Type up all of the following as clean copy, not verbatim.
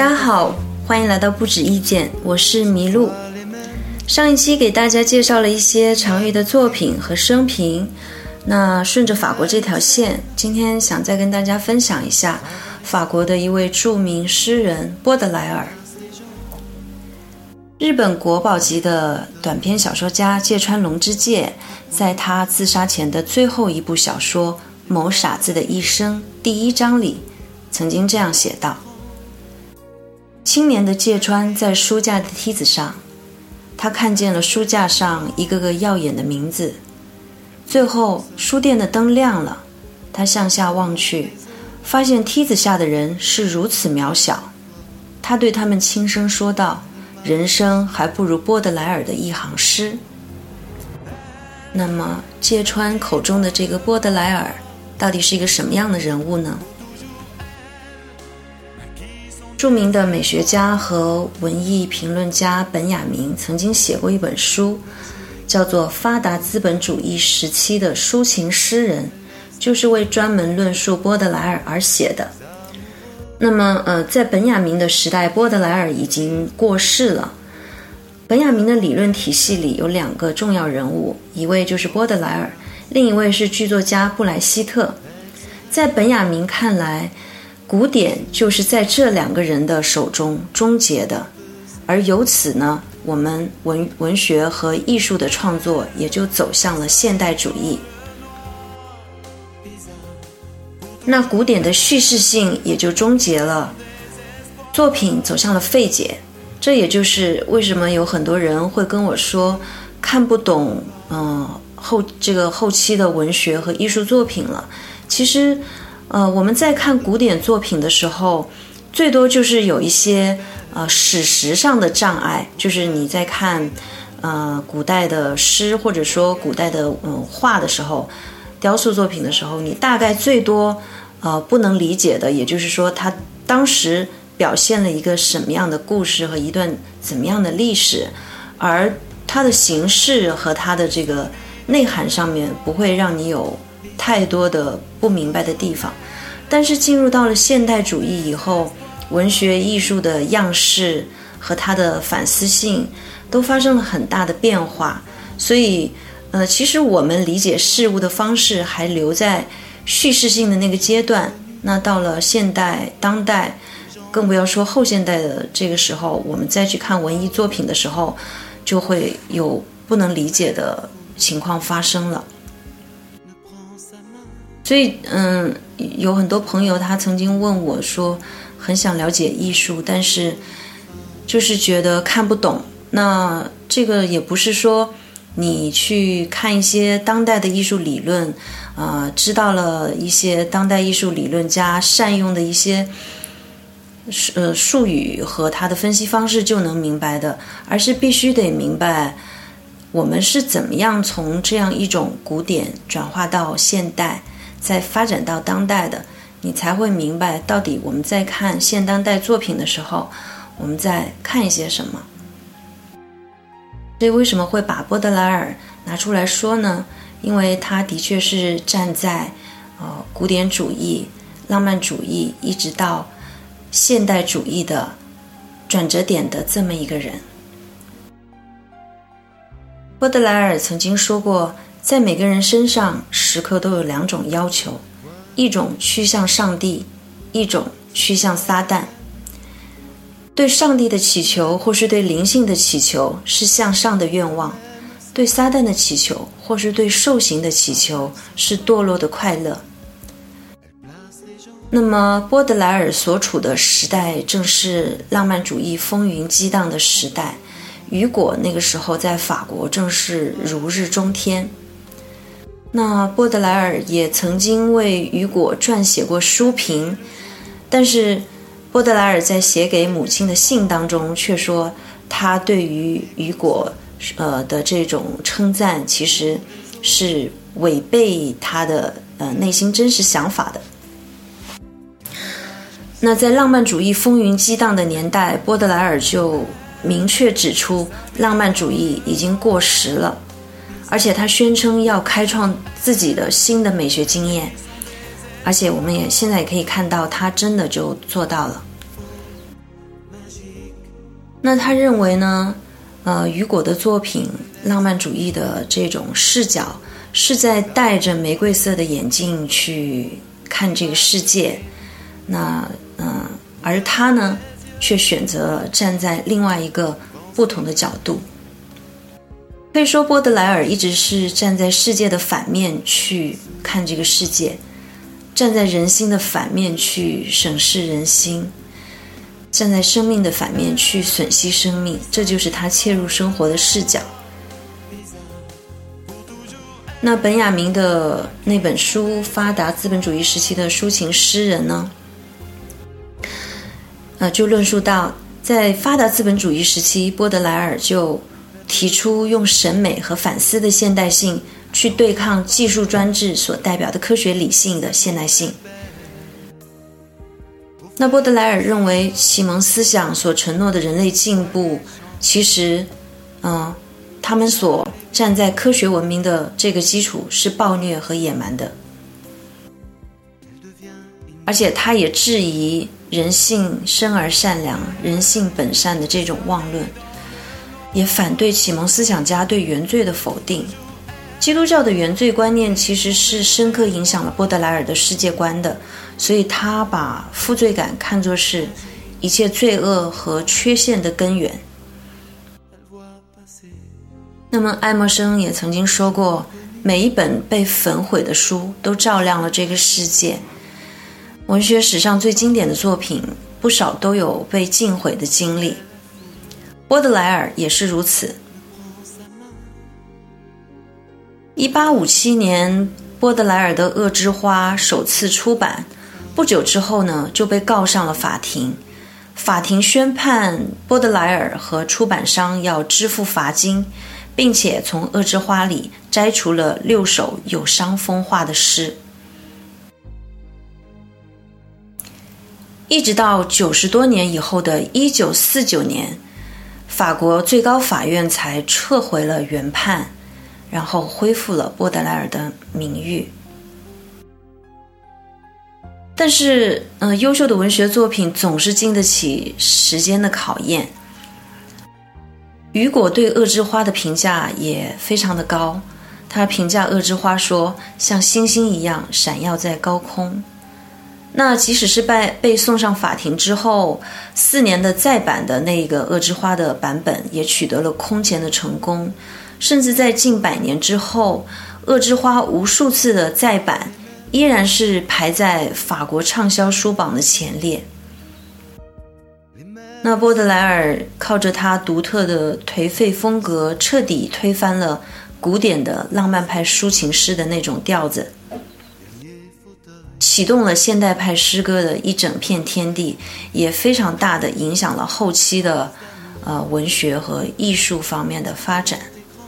大家好，欢迎来到不止意见，我是麋鹿。上一期给大家介绍了一些常玉的作品和生平，那顺着法国这条线，今天想再跟大家分享一下法国的一位著名诗人波德莱尔。日本国宝级的短篇小说家芥川龙之介，在他自杀前的最后一部小说《某傻子的一生》第1章里，曾经这样写道：青年的芥川在书架的梯子上，他看见了书架上一个个耀眼的名字。最后书店的灯亮了，他向下望去，发现梯子下的人是如此渺小。他对他们轻声说道，人生还不如波德莱尔的一行诗。那么芥川口中的这个波德莱尔到底是一个什么样的人物呢？著名的美学家和文艺评论家本雅明曾经写过一本书，叫做《发达资本主义时期的抒情诗人》，就是为专门论述波德莱尔而写的。那么在本雅明的时代，波德莱尔已经过世了。本雅明的理论体系里有2个重要人物，一位就是波德莱尔，另一位是剧作家布莱希特。在本雅明看来，古典就是在这2个人的手中终结的，而由此呢，我们文学和艺术的创作也就走向了现代主义。那古典的叙事性也就终结了，作品走向了废解。这也就是为什么有很多人会跟我说看不懂后期的文学和艺术作品了。其实我们在看古典作品的时候，最多就是有一些史实上的障碍，就是你在看古代的诗或者说古代的画的时候，雕塑作品的时候，你大概最多不能理解的，也就是说他当时表现了一个什么样的故事和一段怎么样的历史，而它的形式和它的这个内涵上面不会让你有太多的不明白的地方。但是进入到了现代主义以后，文学艺术的样式和它的反思性都发生了很大的变化，所以其实我们理解事物的方式还留在叙事性的那个阶段。那到了现代当代，更不要说后现代的这个时候，我们再去看文艺作品的时候，就会有不能理解的情况发生了。所以有很多朋友他曾经问我说，很想了解艺术，但是就是觉得看不懂。那这个也不是说你去看一些当代的艺术理论知道了一些当代艺术理论家善用的一些术语和他的分析方式就能明白的，而是必须得明白我们是怎么样从这样一种古典转化到现代，再发展到当代的，你才会明白到底我们在看现当代作品的时候，我们在看一些什么。所以为什么会把波德莱尔拿出来说呢？因为他的确是站在古典主义、浪漫主义一直到现代主义的转折点的这么一个人。波德莱尔曾经说过，在每个人身上时刻都有2种要求，一种趋向上帝，一种趋向撒旦。对上帝的祈求或是对灵性的祈求是向上的愿望，对撒旦的祈求或是对兽形的祈求是堕落的快乐。那么波德莱尔所处的时代正是浪漫主义风云激荡的时代，雨果那个时候在法国正是如日中天。那波德莱尔也曾经为雨果撰写过书评，但是波德莱尔在写给母亲的信当中却说，他对于雨果的这种称赞其实是违背他的内心真实想法的。那在浪漫主义风云激荡的年代，波德莱尔就明确指出浪漫主义已经过时了，而且他宣称要开创自己的新的美学经验，而且我们也现在也可以看到他真的就做到了。 那他认为呢，雨果的作品浪漫主义的这种视角是在戴着玫瑰色的眼镜去看这个世界，而他呢却选择站在另外一个不同的角度。可以说波德莱尔一直是站在世界的反面去看这个世界，站在人心的反面去审视人心，站在生命的反面去吮吸生命，这就是他切入生活的视角。那本雅明的那本书《发达资本主义时期的抒情诗人》呢，就论述到，在发达资本主义时期，波德莱尔就提出用审美和反思的现代性去对抗技术专制所代表的科学理性的现代性。那波德莱尔认为，启蒙思想所承诺的人类进步，其实他们所站在科学文明的这个基础是暴虐和野蛮的，而且他也质疑人性生而善良，人性本善的这种妄论，也反对启蒙思想家对原罪的否定。基督教的原罪观念其实是深刻影响了波德莱尔的世界观的，所以他把负罪感看作是一切罪恶和缺陷的根源。那么爱默生也曾经说过，每一本被焚毁的书都照亮了这个世界。文学史上最经典的作品，不少都有被尽毁的经历，波德莱尔也是如此。1857年，波德莱尔的《恶之花》首次出版，不久之后呢，就被告上了法庭。法庭宣判波德莱尔和出版商要支付罚金，并且从《恶之花》里摘除了6首有伤风化的诗。一直到90多年以后的1949年，法国最高法院才撤回了原判，然后恢复了波德莱尔的名誉。但是优秀的文学作品总是经得起时间的考验。雨果对《恶之花》的评价也非常的高，他评价《恶之花》说，像星星一样闪耀在高空。那即使是被送上法庭之后，4年的再版的那个《恶之花》的版本也取得了空前的成功，甚至在近100年之后，《恶之花》无数次的再版依然是排在法国畅销书榜的前列。那波德莱尔靠着他独特的颓废风格，彻底推翻了古典的浪漫派抒情诗的那种调子，启动了现代派诗歌的一整片天地，也非常大的影响了后期的文学和艺术方面的发展。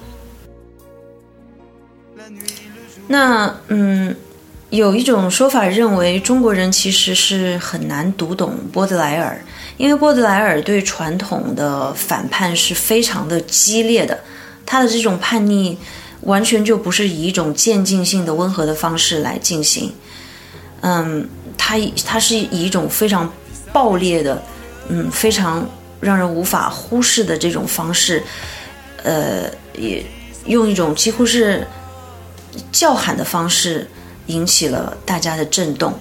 那有一种说法认为，中国人其实是很难读懂波德莱尔，因为波德莱尔对传统的反叛是非常的激烈的，他的这种叛逆完全就不是以一种渐进性的温和的方式来进行。他是以一种非常暴烈的，非常让人无法忽视的这种方式，也用一种几乎是叫喊的方式引起了大家的震动。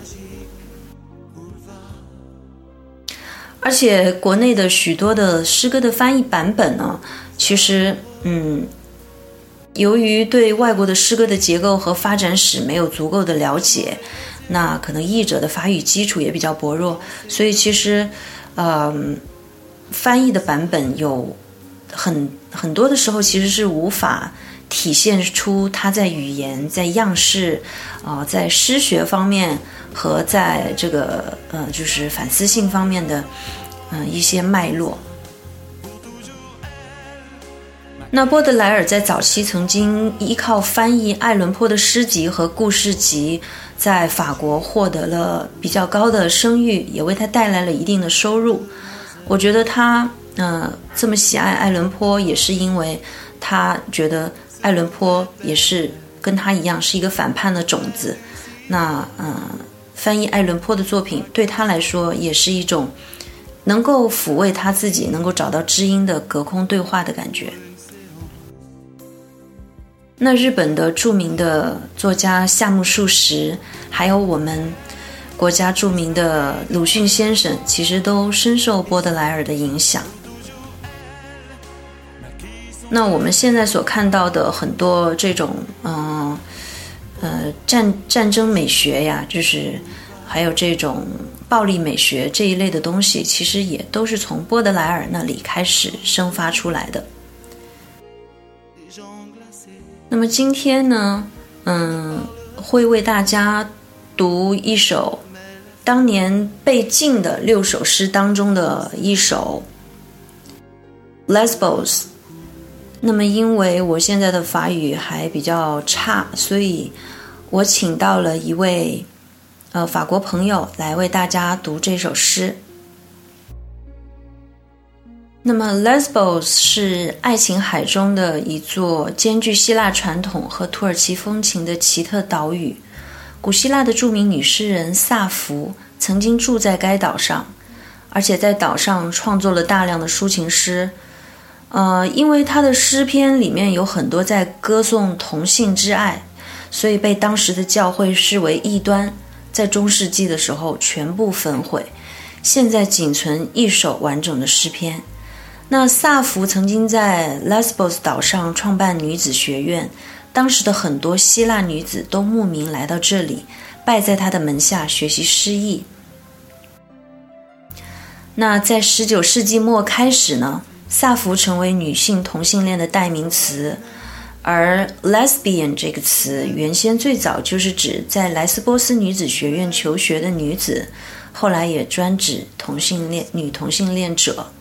而且国内的许多的诗歌的翻译版本呢，其实由于对外国的诗歌的结构和发展史没有足够的了解，那可能译者的法语基础也比较薄弱，所以其实翻译的版本有很多的时候其实是无法体现出它在语言、在样式在诗学方面和在这个就是反思性方面的一些脉络。那波德莱尔在早期曾经依靠翻译爱伦坡的诗集和故事集，在法国获得了比较高的声誉，也为他带来了一定的收入。我觉得他这么喜爱爱伦坡，也是因为他觉得爱伦坡也是跟他一样是一个反叛的种子。那翻译爱伦坡的作品对他来说也是一种能够抚慰他自己，能够找到知音的隔空对话的感觉。那日本的著名的作家夏目漱石，还有我们国家著名的鲁迅先生，其实都深受波德莱尔的影响。那我们现在所看到的很多这种战争美学呀，就是还有这种暴力美学这一类的东西，其实也都是从波德莱尔那里开始生发出来的。那么今天呢，会为大家读一首当年被禁的6首诗当中的一首 Lesbos。 那么因为我现在的法语还比较差，所以我请到了一位法国朋友来为大家读这首诗。那么 Lesbos 是爱琴海中的一座兼具希腊传统和土耳其风情的奇特岛屿。古希腊的著名女诗人萨福曾经住在该岛上，而且在岛上创作了大量的抒情诗。因为她的诗篇里面有很多在歌颂同性之爱，所以被当时的教会视为异端，在中世纪的时候全部焚毁，现在仅存一首完整的诗篇。那萨福曾经在 Lesbos 岛上创办女子学院，当时的很多希腊女子都慕名来到这里，拜在他的门下学习诗意。那在19世纪末开始呢，萨福成为女性同性恋的代名词，而 lesbian 这个词原先最早就是指在莱斯波斯女子学院求学的女子，后来也专指女同性恋者。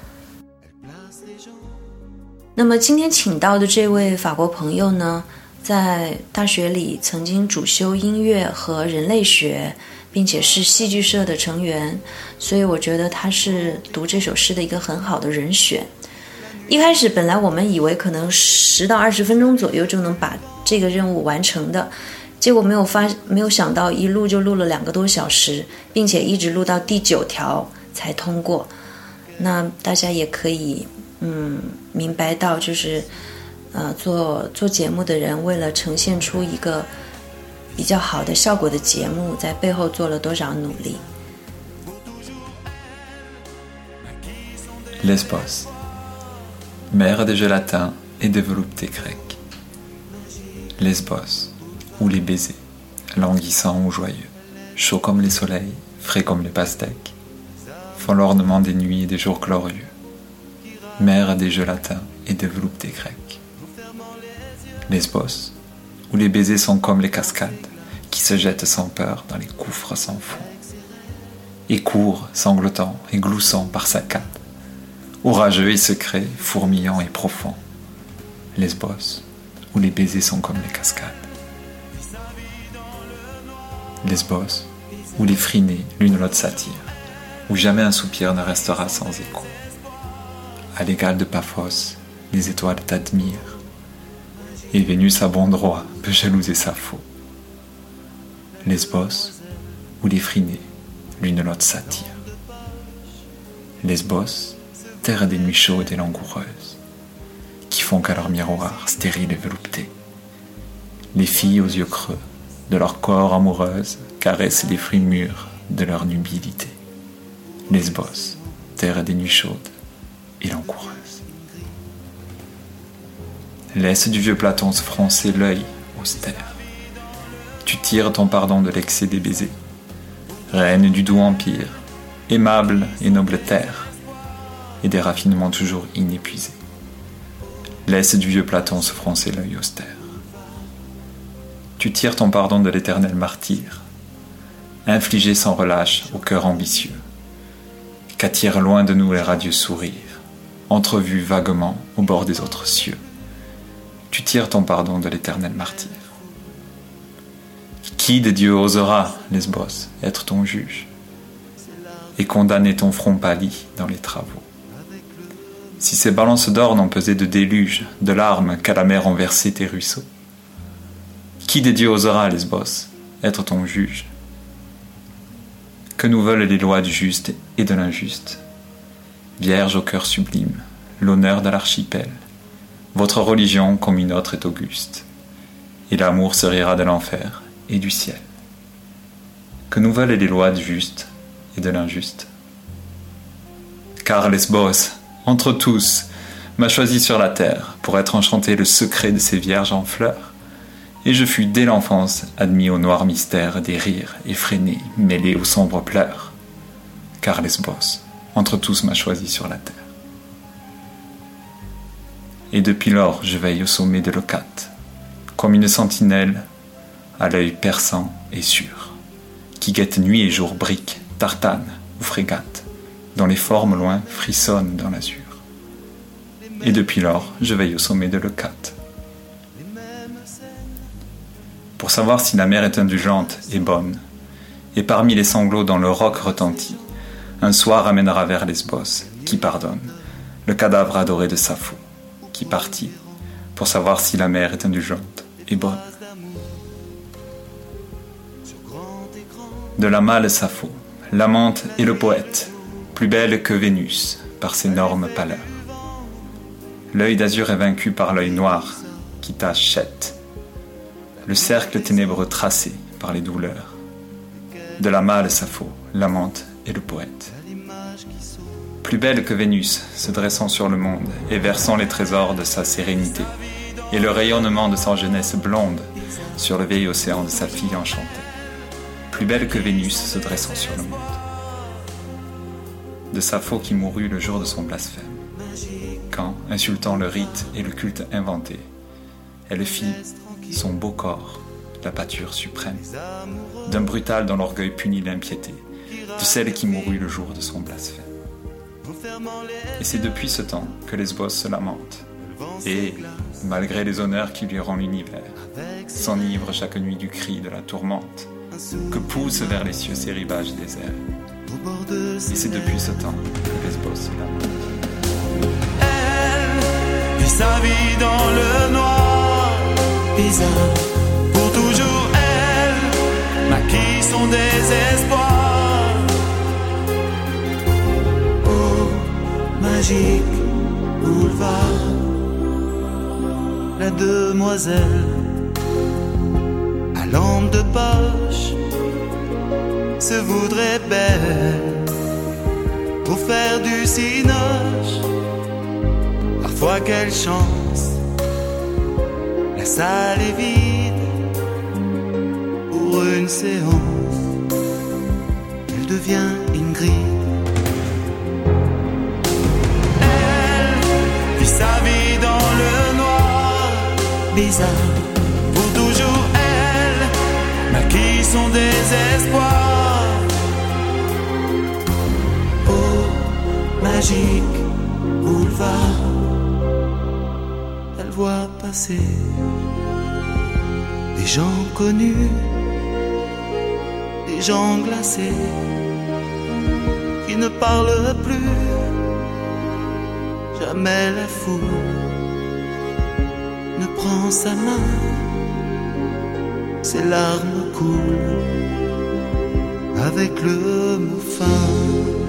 那么今天请到的这位法国朋友呢，在大学里曾经主修音乐和人类学，并且是戏剧社的成员，所以我觉得他是读这首诗的一个很好的人选。一开始本来我们以为可能10到20分钟左右就能把这个任务完成的，结果没有想到一录就录了2个多小时，并且一直录到第9条才通过。那大家也可以明白到，就是做节目的人为了呈现出一个比较好的效果的节目，在背后做了多少努力。 Lesbos, mer des gélatins et des voluptés grecques. Lesbos, où les baisers, languissants ou joyeux, chauds comme les soleils, frais comme les pastèques, font l'ornement des nuits et des jours glorieux. Mer des gélatins et des voluptés grecques. Lesbos, où les baisers sont comme les cascades, qui se jettent sans peur dans les gouffres sans fond, et courent, sanglotant et gloussant par saccades, orageux et secrets, fourmillants et profonds. Lesbos, où les baisers sont comme les cascades. Lesbos, où les frinés l'une l'autre s'attirent, où jamais un soupir ne restera sans écho. À l'égal de Paphos, les étoiles t'admirent, et Vénus à bon droit peut jalouser Sappho. Lesbos, où les frinés l'une l'autre s'attirent. Lesbos, terre des nuits chaudes et langoureuses, qui font qu'à leur miroir stérile et velouté, les filles aux yeux creux de leur corps amoureuses caressent les fruits mûrs de leur nubilité. Lesbos, terre des nuits chaudes et langoureuses. Laisse du vieux Platon se froncer l'œil austère. Tu tires ton pardon de l'excès des baisers. Reine du doux empire, aimable et noble terre, et des raffinements toujours inépuisés. Laisse du vieux Platon se froncer l'œil austère. Tu tires ton pardon de l'éternel martyr, infligé sans relâche au cœur ambitieux, qu'attirent loin de nous les radieux sourires, entrevus vaguement au bord des autres cieux. Tu tires ton pardon de l'éternel martyr. Qui des dieux osera, Lesbos, être ton juge et condamner ton front pâli dans les travaux? Si ces balances d'or n'ont pesé de déluge, de larmes qu'à la mer ont versé tes ruisseaux, qui des dieux osera, Lesbos, être ton juge? Que nous veulent les lois du juste et de l'injuste, Vierge au cœur sublime, l'honneur de l'archipel, votre religion comme une autre est auguste, et l'amour se rira de l'enfer et du ciel. Que nous veulent les lois du juste et de l'injuste? Car Lesbos, entre tous, m'a choisi sur la terre pour être enchanté le secret de ces vierges en fleurs, et je fus dès l'enfance admis au noir mystère des rires effrénés mêlés aux sombres pleurs. Car Lesbos, entre tous m'a choisi sur la terre. Et depuis lors je veille au sommet de Leucate, comme une sentinelle à l'œil perçant et sûr, qui guette nuit et jour briques, tartanes ou frégates, dont les formes loin frissonnent dans l'azur. Et depuis lors je veille au sommet de Leucate, pour savoir si la mer est indulgente et bonne, et parmi les sanglots dont le roc retentit, un soir amènera vers Lesbos, qui pardonne, le cadavre adoré de Sappho, qui partit, pour savoir si la mer est indulgente et bonne. De la mâle Sappho, l'amante et le poète, plus belle que Vénus, par ses normes pâleurs. L'œil d'azur est vaincu par l'œil noir, qui t'achète, le cercle ténébreux tracé par les douleurs. De la mâle Sappho, l'amante et le poète. Plus belle que Vénus, se dressant sur le monde et versant les trésors de sa sérénité, et le rayonnement de sa jeunesse blonde sur le vieil océan de sa fille enchantée. Plus belle que Vénus, se dressant sur le monde. De Sappho qui mourut le jour de son blasphème, quand, insultant le rite et le culte inventé, elle fit son beau corps, la pâture suprême, d'un brutal dont l'orgueil punit l'impiété, de celle qui mourut le jour de son blasphème. Et c'est depuis ce temps que Lesbos se lamente, et, malgré les honneurs qui lui rend l'univers, s'enivre chaque nuit du cri de la tourmente, que poussent vers les cieux ses rivages déserts. Et c'est depuis ce temps que Lesbos se lamente. Elle vit sa vie dans le noir, bizarre, pour toujours elle maquille son désespoir. Magique boulevard, la demoiselle à lampe de poche se voudrait belle pour faire du cinoche. Parfois quelle chance, la salle est vide pour une séance, elle devient Ingrid. Sa vie dans le noir, bizarre, pour toujours elle maquille son désespoir. Oh, magique boulevard, elle voit passer des gens connus, des gens glacés qui ne parlent plus. Jamais la foule ne prend sa main, ses larmes coulent avec le mot fin.